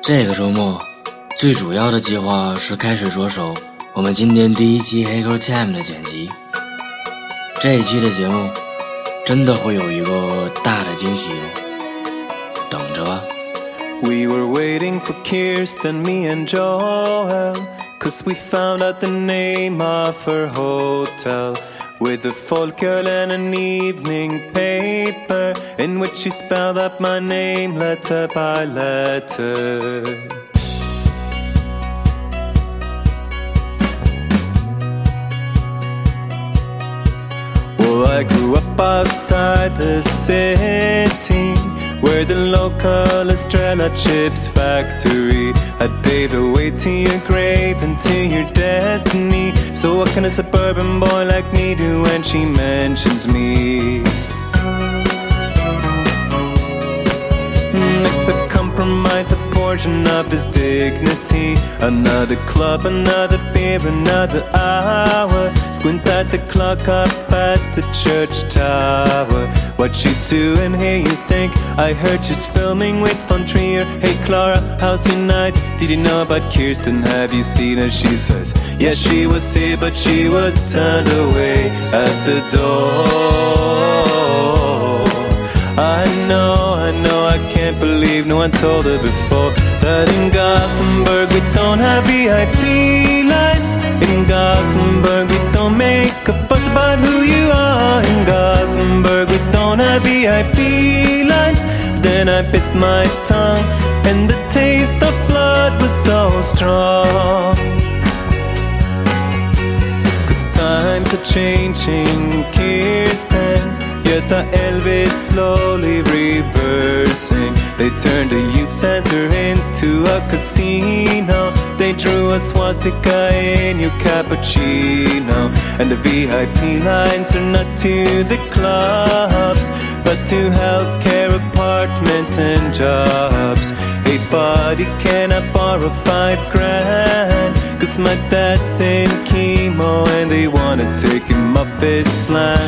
这个周末最主要的计划是开始着手我们今天第一期黑狗 Time 的剪辑。这一期的节目真的会有一个大的惊喜哦，等着吧。 We were waiting for Kirsten, me and Joel, 'cause we found out the name of her hotel, with a folk girl and an evening paper, in which she spelled out my name letter by letter. Well, I grew up outside the city, where the local Estrella Chips factory had paved a way to your grave and to your destiny. So what can a suburban boy like me do when she mentions me? It's a compromise, a portion of his dignity. Another club, another beer, another hour. Squint at the clock up at the church tower. What you doing here, you think? I heard she's filming with Von Trier. Hey Clara, how's your night? Did you know about Kirsten? Have you seen her? She says, yeah, she was here, but she was turned away at the door. I know, I can't believe no one told her before that in Gothenburg we don't have VIP lines. In Gothenburg we don't make a fuss about who you are. In Gothenburg we don't have VIP lines. But then I bit my tongue and the taste of blood was so strong. 'Cause times are changing, Kirsten. Yet the Elvis slowly reversing. They turned the youth center into a casino. They drew a swastika in your cappuccino. And the VIP lines are not to the clubs, but to healthcare, apartments and jobs. Hey buddy, can I borrow $5,000? 'Cause my dad's in chemo and they wanna take him up his plan.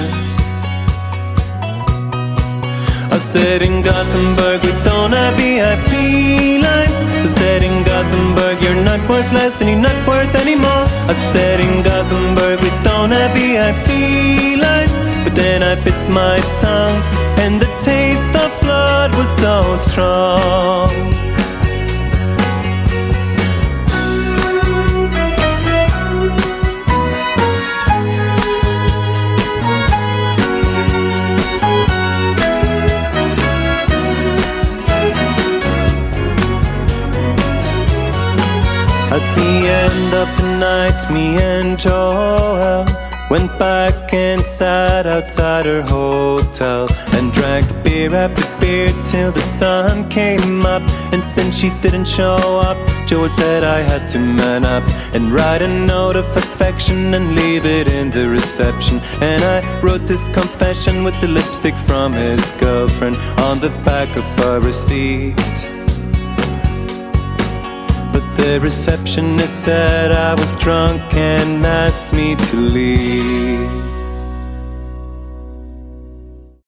I said in Gothenburg we don't have VIP lines. I said in Gothenburg you're not worth less and you're not worth any more. I said in Gothenburg we don't have VIP lines. But then I bit my tongue and the taste of blood was so strong. At the end of the night, me and Joel went back and sat outside her hotel and drank beer after beer till the sun came up. And since she didn't show up, Joel said I had to man up and write a note of affection and leave it in the reception. And I wrote this confession with the lipstick from his girlfriend on the back of a receipt. The receptionist said I was drunk and asked me to leave.